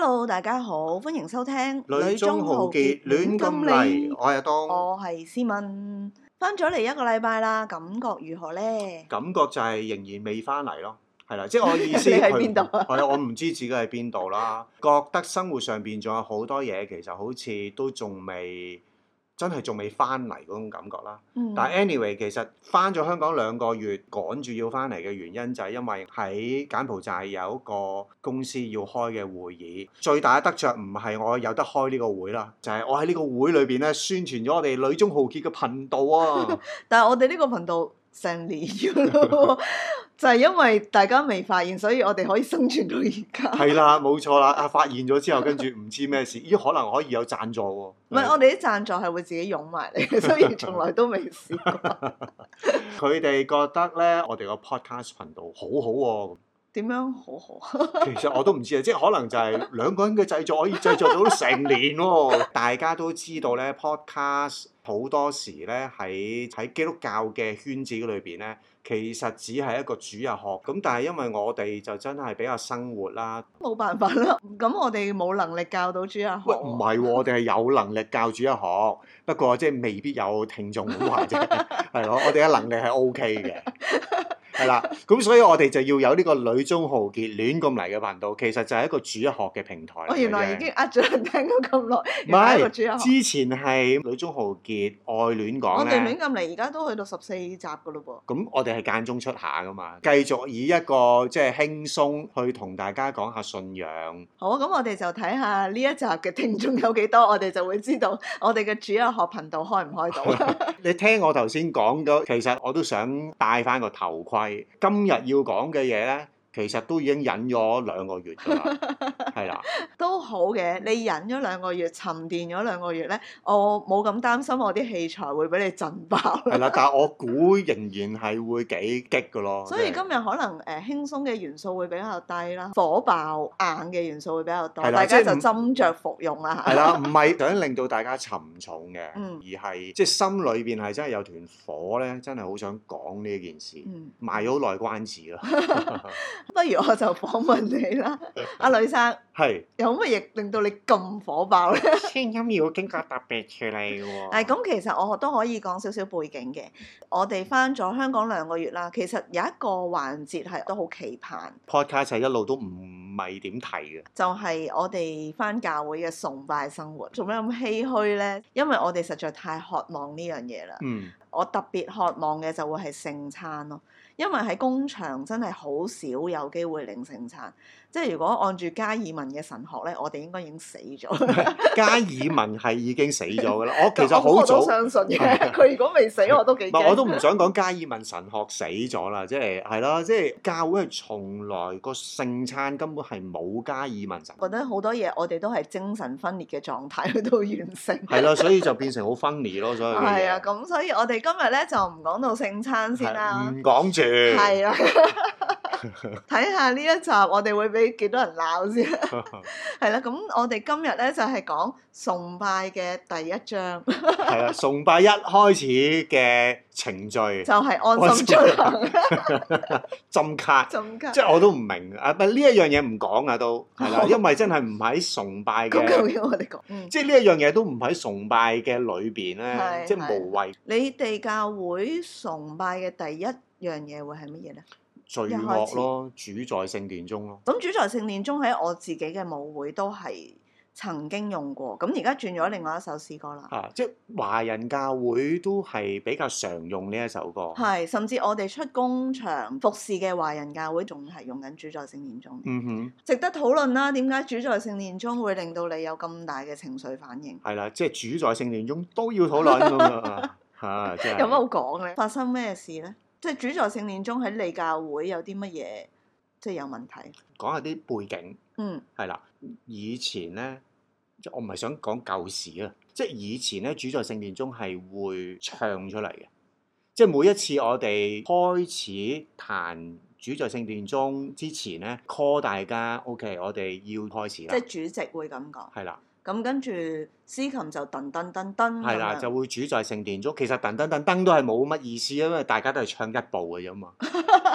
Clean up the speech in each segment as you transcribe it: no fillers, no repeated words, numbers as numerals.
Hello， 大家好，歡迎收聽《 女中豪傑亂咁嚟》，我係阿東， 我係思敏，翻咗嚟一個禮拜啦，感覺如何呢？ 感覺就係仍然未翻嚟咯，係啦，即係我意思。 你喺邊度啊？ 係啊，我唔知自己喺邊度啦，覺得生活上邊仲有好多嘢，其實好似都仲未翻嚟嗰種感覺啦。但係 anyway， 其實翻咗香港2個月，趕住要翻嚟嘅原因就係因為喺柬埔寨有一個公司要開嘅會議，最大嘅得着唔係我有得開呢個會啦，就係我喺呢個會裏邊咧宣傳咗我哋女中豪傑嘅頻道啊！ 但係我哋呢個頻道成年咯，就係因為大家未發現，所以我哋可以生存到而家。 係啦，冇錯啦！啊，發現咗之後，跟住唔知咩事，咦？可能可以有贊助喎。 唔係，我哋啲贊助係會自己湧埋嚟嘅，所以從來都未試過。 佢哋覺得咧，我哋個 podcast 頻道好好喎。 點樣好好？ 其實我都唔知啊，即係可能就係2個人嘅製作可以製作到成年喎。大家都知道咧，podcast 好多時咧喺基督教嘅圈子裏邊咧，其實只係一個主日學。咁但係因為我哋就真係比較生活啦， 冇辦法啦。咁我哋冇能力教到主日學。 喂，唔係喎，我哋係有能力教主日學，不過即係未必有聽眾咁話啫。係咯，我哋嘅能力係 OK 嘅。係啦，咁所以我哋就要有呢個女中豪傑亂咁嚟嘅頻道，其實就係一個主日學嘅平台。 我原來已經呃咗人聽咗咁耐， 唔係，之前係女中豪傑愛亂講咧。 我哋亂咁嚟，而家都去到14集噶咯噃。 咁我哋係間中出下噶嘛，繼續以一個即係輕鬆去同大家講下信仰。 好啊，咁我哋就睇下呢一集嘅聽眾有幾多，我哋就會知道我哋嘅主日學頻道開唔開到。 你聽我頭先講咗，其實我都想戴翻個頭盔。今日要講嘅嘢咧，其實都已經忍咗2個月㗎啦，係啦， 都好嘅。你忍咗2個月，沉澱咗2個月咧，我冇咁擔心我啲器材會俾你震爆。 係啦，但係我估仍然係會幾激㗎咯。 所以今日可能輕鬆嘅元素會比較低啦，火爆硬嘅元素會比較多，大家就斟酌服用啦。 係啦，唔係想令到大家沉重嘅，而係即係心裏邊係真係有團火咧，真係好想講呢件事，賣咗好耐關子啦。 不如我就訪問你啦，阿呂生， 係有乜嘢令到你咁火爆咧？ 聲音要經過特別處理喎。 咁其實我都可以講少少背景嘅。我哋翻咗香港2個月啦，其實有一個環節係都好期盼。 Podcast 係一路都唔係點提嘅， 就係我哋翻教會嘅崇拜生活。做咩咁唏噓咧？因為我哋實在太渴望呢樣嘢啦。我特別渴望嘅就會係聖餐咯。因為喺工場真係好少有機會領聖餐，即係如果按住加爾文嘅神學咧，我哋應該已經死咗。 加爾文係已經死咗㗎啦，我其實好早我都相信嘅。佢如果未死，我都幾驚。 我都唔想講加爾文神學死咗啦，即係係咯，即係教會係從來個聖餐根本係冇加爾文神學。 覺得好多嘢我哋都係精神分裂嘅狀態去到完成。 係咯，所以就變成好分裂咯，所以係啊，咁所以我哋今日咧就唔講到聖餐先啦， 唔講住。 係啊，睇下呢一集我哋會俾幾多人鬧先。係啦，咁我哋今日咧就係講崇拜嘅第1章。 係啊，崇拜一開始嘅程序就係安心出行。 針卡，即係我都唔明啊！呢一樣嘢唔講啊，都係啦，因為真係唔喺崇拜嘅。 咁究竟我哋講， 即係呢一樣嘢都唔喺崇拜嘅裏邊咧，即係無謂。 你哋教會崇拜嘅第一樣嘢會係乜嘢咧？ 聚樂咯，主在聖殿中咯。 咁主在聖殿中喺我自己嘅舞會都係曾經用過，咁而家轉咗另外一首詩歌啦。 即係華人教會都係比較常用呢一首歌。 係，甚至我哋出工場服侍嘅華人教會仲係用緊主在聖殿中。值得討論啦。點解主在聖殿中會令到你有咁大嘅情緒反應？ 係啦，即係主在聖殿中都要討論㗎嘛。 有乜好講咧？發生咩事咧？即係主在聖殿中喺你教會有啲乜嘢即係有問題？ 講下啲背景。係啦，以前咧，即我唔係想講舊時啊，即係以前咧，主在聖殿中係會唱出嚟嘅，即係每一次我哋開始彈主在聖殿中之前咧 call 大家 OK， 我哋要開始啦。 即係主席會咁講。 係啦。 咁跟住司琴就噔噔噔噔。 係啦，就會主在聖殿中。其實噔噔噔噔都係冇乜意思，因為大家都係唱一步嘅啫嘛。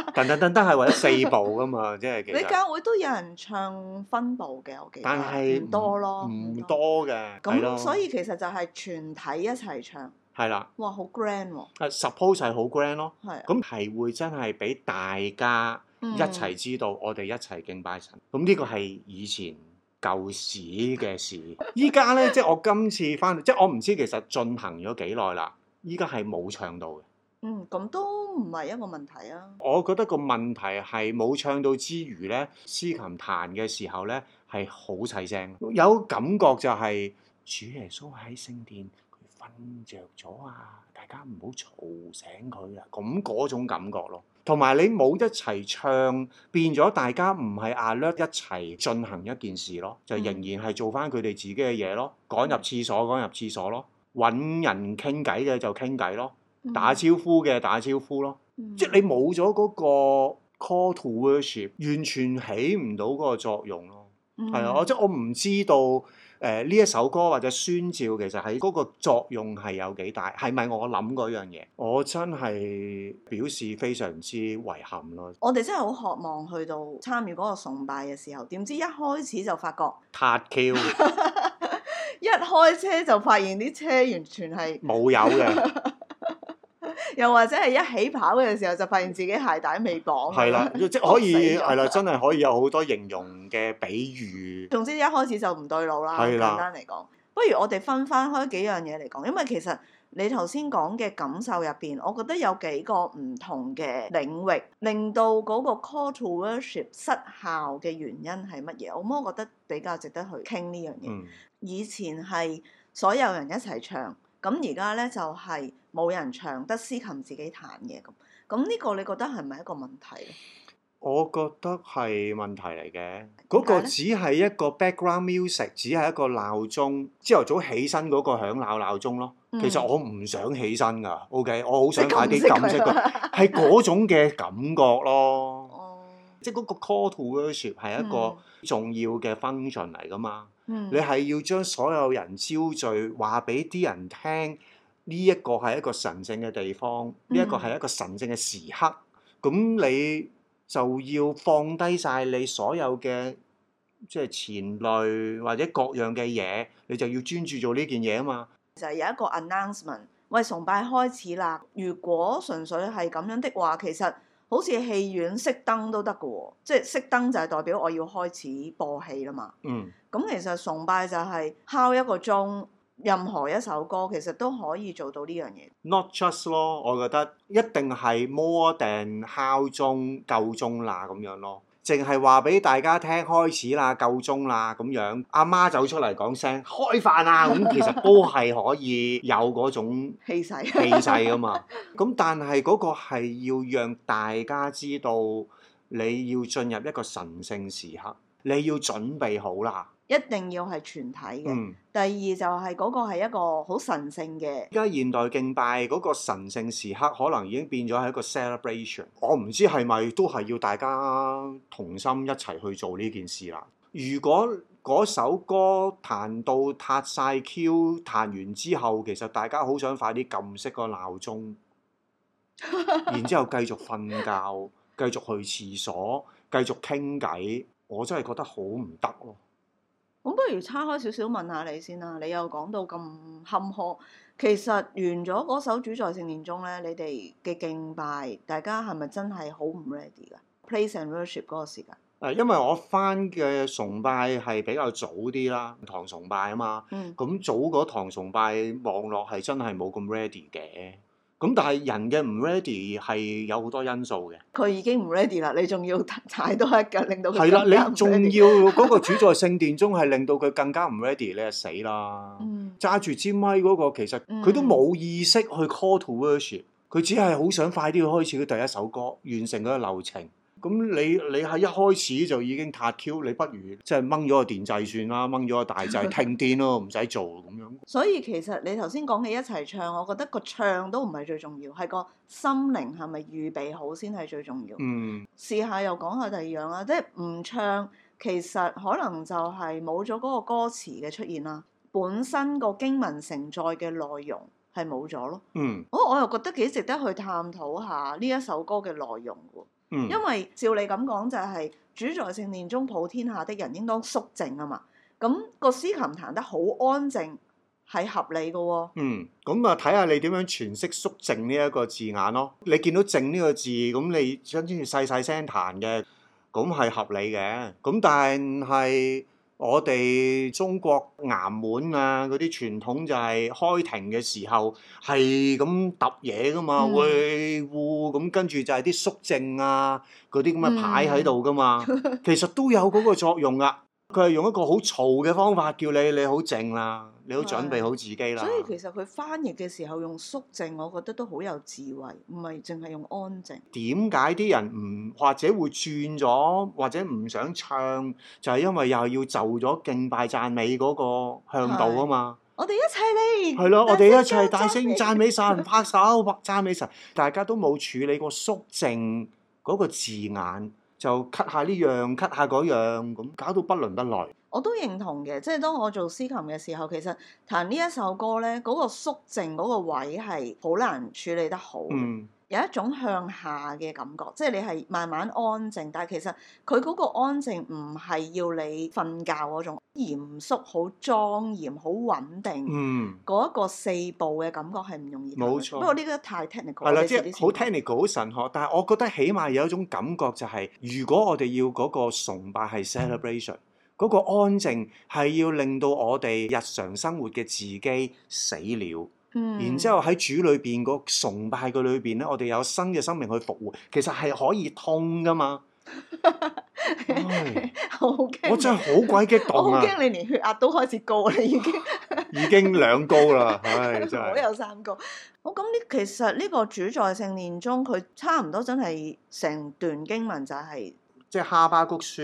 噔噔噔噔係為咗4部噶嘛，即係其實。 你教會都有人唱分部嘅，我記得。 但係唔多咯。 唔多嘅。 咁所以其實就係全體一齊唱。 係啦。 哇！好 grand 喎。 suppose 係好 grand 咯。 係。 咁係會真係俾大家一齊知道，我哋一齊敬拜神。咁呢個係以前舊時嘅事。依家咧，即係我今次翻，即係我唔知其實進行咗幾耐啦。依家係冇唱到嘅。 咁都唔係一個問題啊。 我覺得個問題係冇唱到之餘咧，司琴彈嘅時候咧係好細聲，有感覺就係主耶穌喺聖殿，佢瞓着咗啊！大家唔好嘈醒佢啊！咁嗰種感覺咯。同埋你冇一齊唱，變咗大家唔係alert一齊進行一件事咯，就仍然係做翻佢哋自己嘅嘢咯，趕入廁所咯，揾人傾偈嘅就傾偈咯。打招呼嘅打招呼咯，即係你冇咗嗰個 call to worship， 完全起唔到嗰個作用咯。係啊，即係我唔知道呢一首歌或者宣召其實喺嗰個作用係有幾大，係咪我諗嗰樣嘢？我真係表示非常之遺憾咯。 我哋真係好渴望去到參與嗰個崇拜嘅時候，點知一開始就發覺撻 Q， 一開車就發現啲車完全係冇油嘅。 又或者係一起跑嘅時候，就發現自己鞋帶未綁。 係啦，即係可以係啦，真係可以有好多形容嘅比喻。 總之一開始就唔對路啦。簡單嚟講，不如我哋分翻開幾樣嘢嚟講，因為其實你頭先講嘅感受入邊，我覺得有幾個唔同嘅領域，令到嗰個 call to worship 失效嘅原因係乜嘢？我覺得比較值得去傾呢樣嘢。以前係所有人一齊唱。咁而家咧就係冇人唱，得司琴自己彈嘅咁呢個你覺得係咪一個問題咧？ 我覺得係問題嚟嘅。嗰個只係一個 background music， 只係一個鬧鐘，朝頭早起身嗰個響鬧鐘咯。其實我唔想起身㗎，OK， 我好想快啲撳熄佢，係嗰種嘅感覺咯。即係嗰個 call to worship 係一個重要嘅 function 嚟㗎嘛。你係要將所有人招聚，話俾啲人聽，呢一個係一個神聖嘅地方，呢一個係一個神聖嘅時刻。咁你就要放低晒你所有嘅即係前類或者各樣嘅嘢，你就要專注做呢件嘢啊嘛。就係有一個 announcement， 喂，崇拜開始啦！如果純粹係咁樣的話，其實好似戲院熄燈都得㗎喎，即係熄燈就係代表我要開始播戲啦嘛。咁其實崇拜就係敲一個鐘，任何一首歌其實都可以做到呢樣嘢。 Not just 咯，我覺得一定係 more than 敲鐘夠鐘啦咁樣咯。淨係話俾大家聽開始啦，夠鐘啦咁樣，阿媽走出嚟講聲開飯啊，咁其實都係可以有嗰種氣勢噶嘛。咁但係嗰個係要讓大家知道你要進入一個神聖時刻，你要準備好啦。一定要係全體嘅。第二就係嗰個係一個好神聖嘅。而家現代敬拜嗰個神聖時刻，可能已經變咗係一個 celebration。我唔知係咪都係要大家同心一齊去做呢件事啦。如果嗰首歌彈到撻晒 Q， 彈完之後，其實大家好想快啲撳熄個鬧鐘，然之後繼續瞓覺，繼續去廁所，繼續傾偈，我真係覺得好唔得咯。咁不如岔開少少問下你先啦，你又講到咁坎坷，其實完咗嗰首主在聖殿中咧，你哋嘅敬拜，大家係咪真係好唔 ready 㗎 ？Praise and worship 嗰個時間。因為我返嘅崇拜係比較早啲啦，堂崇拜啊嘛，咁早嗰堂崇拜網絡係真係冇咁 ready 嘅。咁但係人嘅唔 ready 係有好多因素嘅。佢已經唔 ready 啦，你仲要踩多一腳，令到佢更加唔 ready。係啦，你仲要嗰個主在聖殿中係令到佢更加唔 ready，你係死啦。揸住支咪嗰個其實佢都冇意識去 call to worship，佢只係好想快啲去開始佢第一首歌，完成嗰個流程。咁你係一開始就已經撻 Q， 你不如即係掹咗個電掣算啦，掹咗個大掣停電咯，唔使做咁樣。所以其實你頭先講嘅一齊唱，我覺得個唱都唔係最重要，係個心靈係咪預備好先係最重要。試下又講下第二樣啦，即係唔唱，其實可能就係冇咗嗰個歌詞嘅出現啦，本身個經文承載嘅內容係冇咗咯。我又覺得幾值得去探討下呢一首歌嘅內容喎。 因為照你咁講就係、主在聖殿中普天下的人應當肅靜啊嘛。咁個司琴彈得好安靜係合理嘅喎。 咁啊睇下你點樣詮釋肅靜呢一個字眼咯。你見到靜呢個字，咁你想住細細聲彈嘅，咁係合理嘅。咁但係我哋中國衙門啊嗰啲傳統就係開庭嘅時候係咁揼嘢噶嘛，喂呼咁，跟住就係啲肅靜啊嗰啲咁嘅牌喺度噶嘛，其實都有嗰個作用噶。佢係用一個好嘈嘅方法叫你好靜啦，你好準備好自己啦。 所以其實佢翻譯嘅時候用肅靜，我覺得都好有智慧，唔係淨係用安靜。 點解啲人唔或者會轉咗，或者唔想唱，就係因為又係要就咗敬拜讚美嗰個向度啊嘛。 我哋一齊嚟。 係咯，我哋一齊大聲讚美神，拍手讚美神。大家都冇處理過肅靜嗰個字眼。就 cut 下呢樣 cut 下嗰樣，咁搞到不倫不類。 我都認同嘅，即係當我做司琴嘅時候，其實彈呢一首歌咧，嗰個肅靜嗰個位係好難處理得好。有一種向下嘅感覺，即係你係慢慢安靜，但係其實佢嗰個安靜唔係要你瞓覺嗰種嚴肅、好莊嚴、好穩定。嗰一個四步嘅感覺係唔容易。冇錯。不過呢個太 technical。係啦， 即係好 technical、好神學，但係我覺得起碼有一種感覺就係，如果我哋要嗰個崇拜係 celebration，嗰個安靜係要令到我哋日常生活嘅自己死了。然之後喺主裏邊個崇拜嘅裏邊咧，我哋有新嘅生命去復活，其實係可以通噶嘛。 好驚！ 我真係好鬼激動啊！ 我好驚你連血壓都開始高啦，已經兩高啦，唉，真係。 我有三高。咁其實呢個主在聖殿中，佢差唔多真係成段經文就係即係哈巴谷書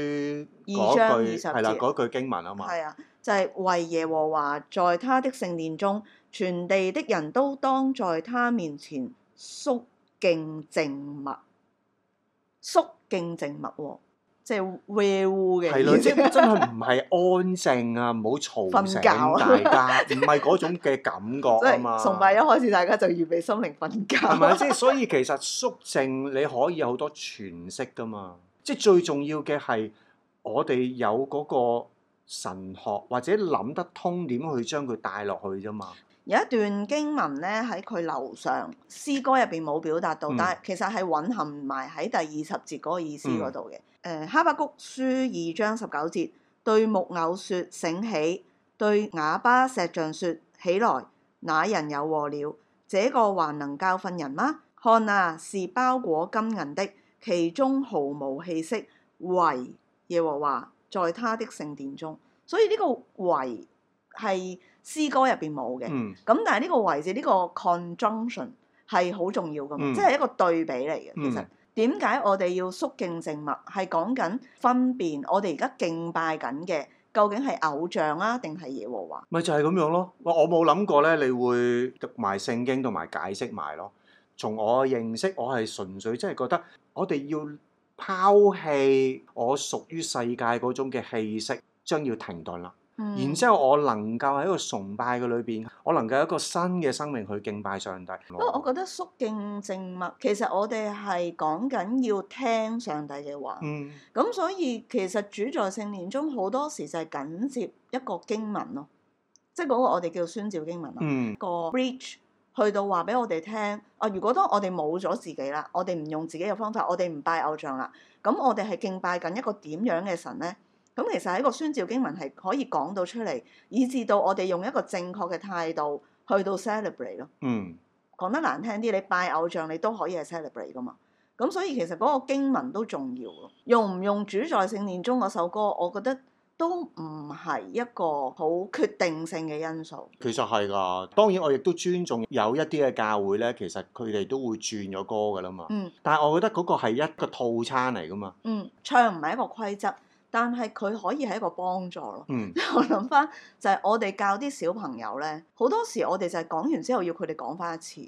2章20節係啦，嗰句經文啊嘛。 係啊，就係為耶和華在他的聖殿中，全地的人都當在他面前肅敬靜默。肅敬靜默喎，即係 where 嘅。 係咯，即係真係唔係安靜啊，唔好嘈醒大家，唔係嗰種嘅感覺啊嘛。 崇拜一開始，大家就預備心靈瞓覺。 係咪？即係所以其實肅靜你可以有好多詮釋噶嘛。即係最重要嘅係我哋有嗰個神學或者諗得通點去將佢帶落去啫嘛。 有一段經文咧喺佢樓上詩歌入邊冇表達到，但係其實係蘊含埋喺第20節嗰個意思嗰度嘅。哈巴谷書2章19節，對木偶說醒起，對啞巴石像說起來，那人有禍了，這個還能教訓人嗎？看啊，是包裹金銀的，其中毫無氣息，惟耶和華在他的聖殿中。所以呢個惟係詩歌入邊冇嘅，咁但係呢個為字呢個 conjunction 係好重要噶嘛，即係一個對比嚟嘅。其實點解我哋要肅敬靜默？係講緊分辨我哋而家敬拜緊嘅究竟係偶像啊，定係耶和華？ 咪就係咁樣咯。我冇諗過咧，你會讀埋聖經同埋解釋埋咯。從我嘅認識，我係純粹真係覺得我哋要拋棄我屬於世界嗰種嘅氣息，將要停頓啦。然之後，我能夠喺個崇拜嘅裏邊，我能夠有一個新嘅生命去敬拜上帝。 不過，我覺得肅敬靜默，其實我哋係講緊要聽上帝嘅話。咁所以其實主在聖殿中好多時就係緊接一個經文咯，即係嗰個我哋叫宣召經文咯。個 bridge 去到話俾我哋聽，如果當我哋冇咗自己啦，我哋唔用自己嘅方法，我哋唔拜偶像啦，咁我哋係敬拜緊一個點樣嘅神咧？咁其實喺個宣召經文係可以講到出嚟，以至到我哋用一個正確嘅態度去到 celebrate 咯。講得難聽啲，你拜偶像你都可以係 celebrate 噶嘛。咁所以其實嗰個經文都重要咯。用唔用主在聖殿中嗰首歌，我覺得都唔係一個好決定性嘅因素。 其實係㗎，當然我亦都尊重有一啲嘅教會咧，其實佢哋都會轉咗歌㗎啦嘛。但係我覺得嗰個係一個套餐嚟㗎嘛。 唱唔係一個規則。但係佢可以係一個幫助咯。我諗翻就係我哋教啲小朋友咧，好多時我哋就係講完之後要佢哋講翻一次。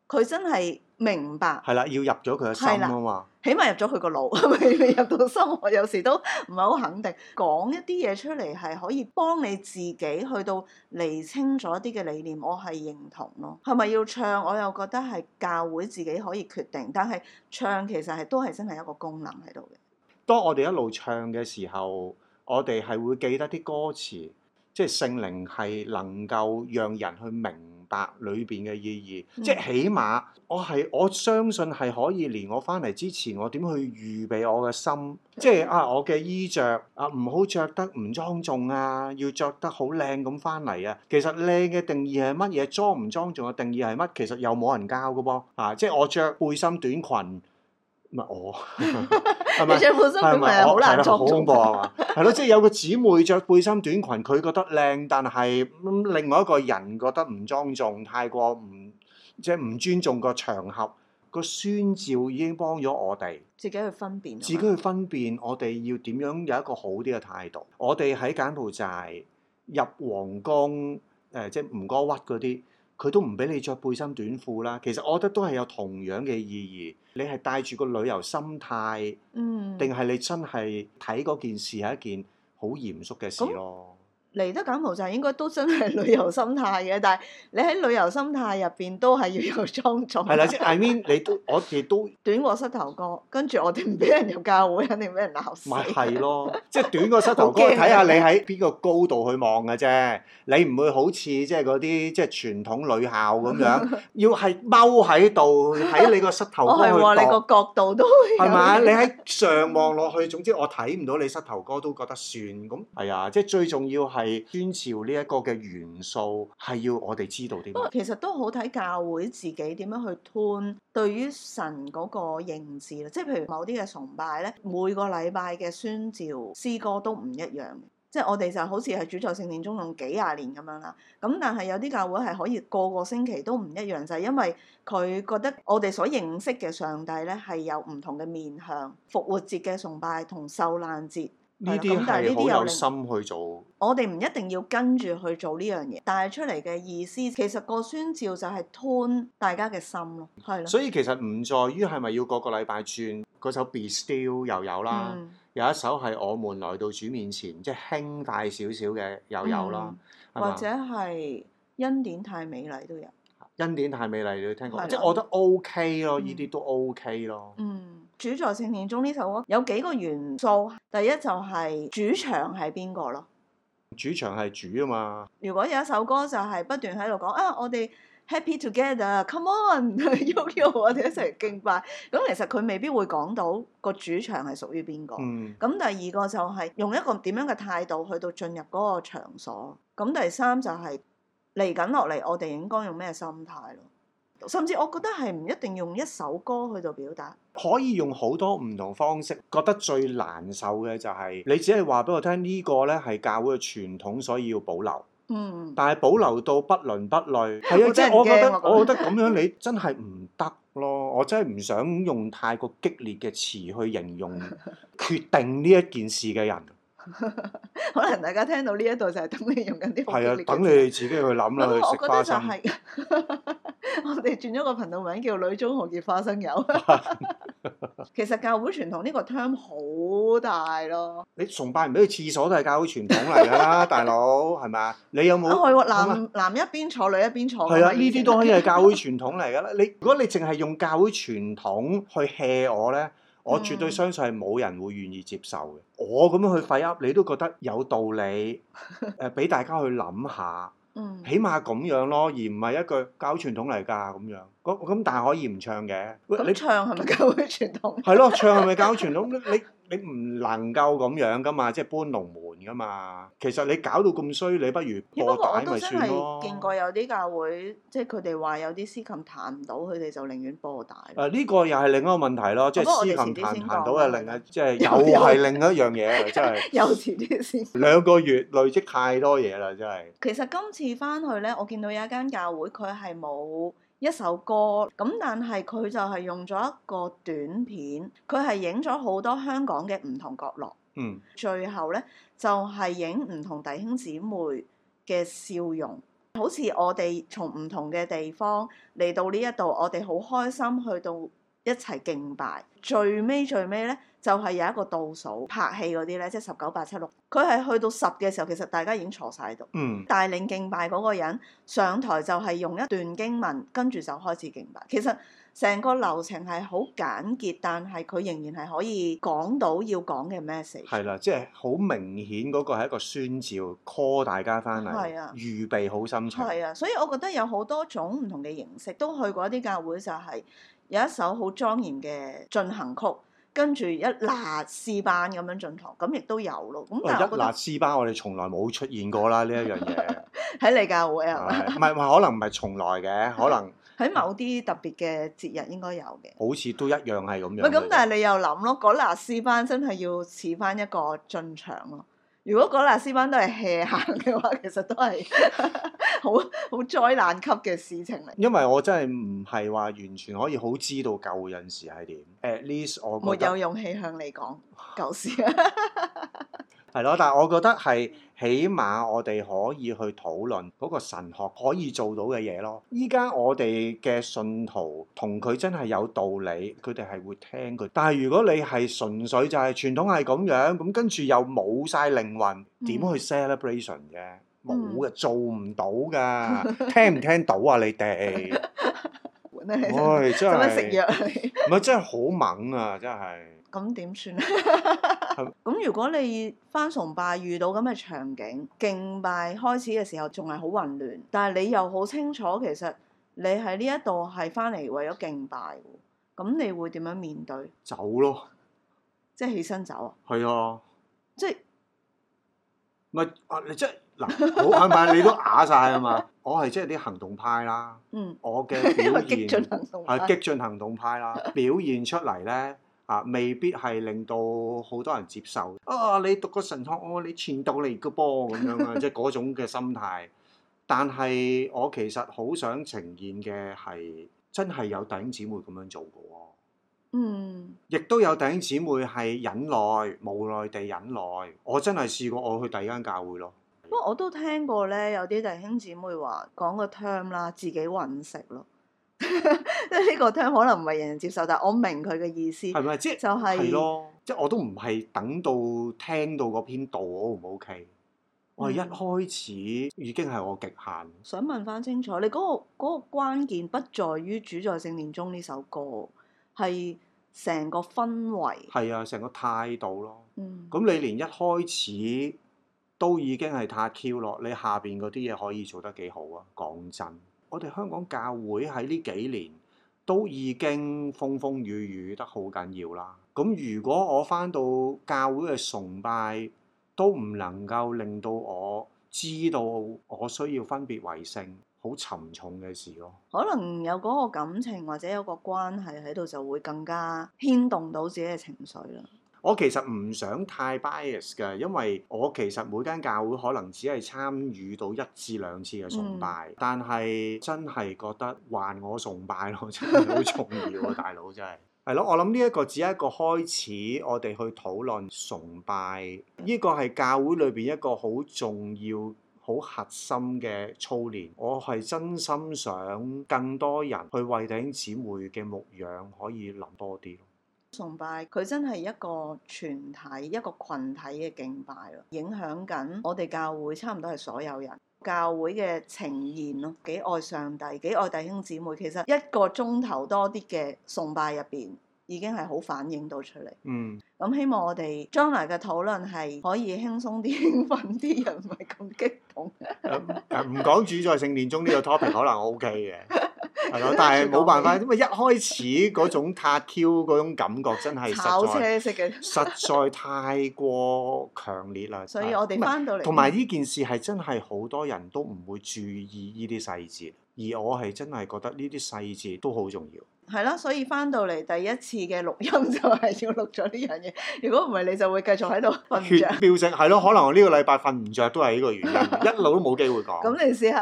佢真係明白。 係啦，要入咗佢嘅心啊嘛。 起碼入咗佢個腦，未入到心。我有時都唔係好肯定。講一啲嘢出嚟係可以幫你自己去到釐清咗一啲嘅理念，我係認同咯。係咪要唱？我又覺得係教會自己可以決定，但係唱其實都係真係一個功能喺度嘅。 當我哋一路唱嘅時候，我哋係會記得啲歌詞，即係聖靈係能夠讓人去明白裏邊嘅意義。即係起碼我相信係可以連我翻嚟之前，我點去預備我嘅心，即係我嘅衣着唔好着得唔莊重啊，要着得好靚咁翻嚟啊。其實靚嘅定義係乜嘢？莊唔莊重嘅定義係乜？其實又冇人教嘅噃。即係我着背心短裙。唔係我，係咪？着背心短裙係好難裝，好恐怖係嘛？係咯，即係有個姊妹着背心短裙，佢覺得靚，但係另外一個人覺得唔莊重，太過即係唔尊重個場合。個宣召已經幫咗我哋自己去分辨， 我哋要點樣有一個好啲嘅態度。我哋喺柬埔寨入皇宮，即係吳哥窟嗰啲。佢都唔俾你着背心短褲啦，其實我覺得都係有同樣嘅意義。你係帶住個旅遊心態，定係你真係睇嗰件事係一件好嚴肅嘅事咯。 嚟得柬埔寨應該都真係旅遊心態嘅，但係你喺旅遊心態入邊都係要有莊重。 係啦，即係 I mean 我哋都短過膝頭哥，跟住我哋唔俾人入教會，肯定俾人鬧死。 咪係咯，即係短過膝頭哥，睇下你喺邊個高度去望嘅啫。你唔會好似即係嗰啲即係傳統女校咁樣，要係踎喺度喺你個膝頭哥去度。 你個角度都係咪？你喺上望落去，總之我睇唔到你膝頭哥都覺得算咁。係啊，即係最重要係宣召呢一個嘅元素，係要我哋知道啲乜。 其實都好睇教會自己點樣去 tune 對於神嗰個認知啦。即係譬如某啲嘅崇拜咧，每個禮拜嘅宣召詩歌都唔一樣嘅。即係我哋就好似係主在聖殿中用幾廿年咁樣啦。咁但係有啲教會係可以個個星期都唔一樣，就係因為佢覺得我哋所認識嘅上帝咧係有唔同嘅面向。復活節嘅崇拜同受難節。 呢啲係好有心去做， 我哋唔一定要跟住去做呢樣嘢，但係出嚟嘅意思，其實個宣召就係 tune 大家嘅心咯，係咯。 所以其實唔在於係咪要個個禮拜轉嗰首 Be Still 又有啦，有一首係我們來到主面前，即係輕快少少嘅又有啦， 或者係恩典太美麗都有。 恩典太美麗你都聽過，即係我覺得 OK 咯，呢啲都 OK 咯。 主在聖殿中呢首歌有幾個元素，第一就係主唱係邊個咯？ 主唱係主啊嘛。 如果有一首歌就係不斷喺度講我哋 happy together，come on，喐我哋一齊敬拜。咁其實佢未必會講到個主唱係屬於邊個。咁第二個就係用一個點樣嘅態度去到進入嗰個場所。咁第三就係嚟緊落嚟，我哋應該用咩心態咯？甚至我覺得係唔一定用一首歌去到表達， 可以用好多唔同方式。覺得最難受嘅就係你只係話俾我聽呢個咧係教會嘅傳統，所以要保留。但係保留到不倫不類，係啊，即係我覺得咁樣你真係唔得咯。我真係唔想用太過激烈嘅詞去形容決定呢一件事嘅人。 可能大家聽到呢一度就係等你用緊啲好激烈嘅詞。 係啊，等你哋自己去諗啦，去食花生。 我哋轉咗個頻道名叫女中豪傑花生友。其實教會傳統呢個 term 好大咯。 你崇拜唔俾去廁所都係教會傳統嚟㗎啦，大佬係咪啊？你有冇？ 係喎，男一邊坐，女一邊坐。 係啊，呢啲都可以係教會傳統嚟㗎啦。如果你淨係用教會傳統去 hea 我咧，我絕對相信係冇人會願意接受嘅。我咁樣去廢噏，你都覺得有道理，俾大家去諗下。起碼咁樣咯，而唔係一句教會傳統嚟㗎咁樣。咁但係可以唔唱嘅。 你唱係咪教會傳統？ 係咯，唱係咪教會傳統？你唔能夠咁樣㗎嘛，即係搬龍門㗎嘛。其實你搞到咁衰，你不如播帶咪算咯。 我都真係見過有啲教會，即係佢哋話有啲司琴彈唔到，佢哋就寧願播帶。 呢個又係另一個問題咯，即係司琴彈到係另一，即係又係另一樣嘢，真係。 有遲啲先。 2個月累積太多嘢啦，真係。 其實今次翻去咧，我見到有一間教會，佢係冇一首歌，咁但係佢就係用咗一個短片，佢係影咗好多香港嘅唔同角落。最後咧就係影唔同弟兄姊妹嘅笑容， 好似我哋從唔同嘅地方嚟到呢一度，我哋好開心去到一齊敬拜。最尾咧，就係有一個倒數拍戲嗰啲咧，即係19、8、7、6，佢係去到10嘅時候，其實大家已經坐晒喺度。帶領敬拜嗰個人上台就係用一段經文，跟住就開始敬拜。其實成個流程係好簡潔，但係佢仍然係可以講到要講嘅 message。 係啦，即係好明顯嗰個係一個宣召 call 大家翻嚟，預備好心情。係啊，所以我覺得有好多種唔同嘅形式，都去過一啲教會，就係有一首好莊嚴嘅進行曲，跟住一辣詩班咁樣進堂，咁亦都有咯。咁但係一辣詩班我哋從來冇出現過啦，呢一樣嘢。 喺你教會係咪？ 唔係可能唔係從來嘅，可能喺某啲特別嘅節日應該有嘅。 好似都一樣係咁樣。 咁，但係你又諗咯，嗰辣詩班真係要似翻一個進場咯。如果嗰辣詩班都係 hea 行嘅話，其實都係好災難級嘅事情嚟。 因為我真係唔係話完全可以好知道舊陣時係點。At least 我覺得沒有勇氣向你講舊事。 係咯，但係我覺得係起碼我哋可以去討論嗰個神學可以做到嘅嘢咯。依家我哋嘅信徒同佢真係有道理，佢哋係會聽佢。但係如果你係純粹就係傳統係咁樣，咁跟住又冇晒靈魂，點去 celebration 嘅？冇嘅，做唔到㗎。聽唔聽到啊？你哋？唉，真係食藥唔係真係好猛啊！真係。 咁點算咧？咁如果你返崇拜遇到咁嘅場景，敬拜開始嘅時候仲係好混亂，但係你又好清楚其實你喺呢一度係返嚟為咗敬拜喎，咁你會點樣面對？ 走咯， 即係起身走啊？ 係啊， 即係唔係啊？你即係嗱，好係咪？你都啞晒啊嘛？我係即係啲行動派啦，我嘅表現激進行動派係激進行動派啦，表現出嚟咧。未必係令到好多人接受。你讀個神學，你傳道嚟嘅噃咁樣啊，即係嗰種嘅心態。但係我其實好想呈現嘅係真係有弟兄姊妹咁樣做嘅喎。亦都有弟兄姊妹係忍耐，無奈地忍耐。我真係試過，我去第二間教會咯。 不過我都聽過咧，有啲弟兄姊妹話講個 term 啦，自己揾食咯。即係呢個 term 可能唔係人人接受，但係我明佢嘅意思。係咪？即係就係咯，即係我都唔係等到聽到嗰篇道我唔 OK，我係一開始已經係我極限。 想問翻清楚，你嗰個關鍵不在於主在聖殿中呢首歌，係成個氛圍。 係啊，成個態度咯。咁你連一開始都已經係太 Q 咯，你下邊嗰啲嘢可以做得幾好啊？講真。我哋香港教會喺呢幾年都已經風風雨雨得好緊要啦。咁如果我返到教會嘅崇拜都唔能夠令到我知道我需要分別為聖，好沉重嘅事咯。 可能有嗰個感情或者有個關係喺度，就會更加牽動到自己嘅情緒啦。 我其實唔想太 bias 嘅，因為我其實每間教會可能只係參與到1至2次嘅崇拜，但係真係覺得還我崇拜咯，真係好重要啊！大佬真係係咯，我諗呢一個只係一個開始，我哋去討論崇拜，呢個係教會裏邊一個好重要、好核心嘅操練。我係真心想更多人去為弟兄姊妹嘅牧養可以諗多啲。 崇拜佢真係一個全體、一個群體嘅敬拜咯，影響緊我哋教會差唔多係所有人教會嘅呈現咯。幾愛上帝，幾愛弟兄姊妹，其實1個鐘頭多啲嘅崇拜入邊已經係好反映到出嚟。咁希望我哋將來嘅討論係可以輕鬆啲、興奮啲，人唔係咁激動。 唔講主在聖殿中呢個 topic 可能 OK 嘅。係咯，但係冇辦法，因為一開始嗰種撻 Q 嗰種感覺真係炒車式嘅， 實在太過強烈啦。 所以我哋翻到嚟， 同埋呢件事係真係好多人都唔會注意呢啲細節，而我係真係覺得呢啲細節都好重要。 係啦，所以翻到嚟第一次嘅錄音就係要錄咗呢樣嘢。如果唔係，你就會繼續喺度瞓唔著。 血飆升係咯，可能我呢個禮拜瞓唔着都係呢個原因，一路都冇機會講。 咁你試下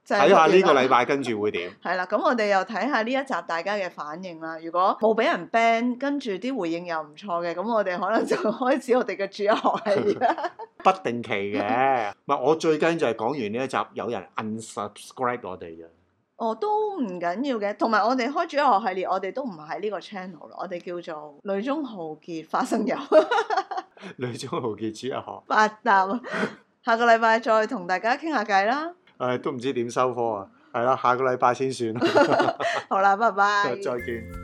睇下呢個禮拜跟住會點。 係啦，咁我哋又睇下呢一集大家嘅反應啦。如果冇俾人 ban，跟住啲回應又唔錯嘅，咁我哋可能就開始我哋嘅主日學系列啦。 不定期嘅，唔係我最驚就係講完呢一集有人 unsubscribe 我哋嘅。 哦，都唔緊要嘅，同埋我哋開主日學系列，我哋都唔喺呢個 channel 咯，我哋叫做女中豪傑花生油。 女中豪傑主日學。 八搭，下個禮拜再同大家傾下偈啦。 都唔知點收科啊，係啦，下個禮拜先算。 好啦，拜拜。 再見。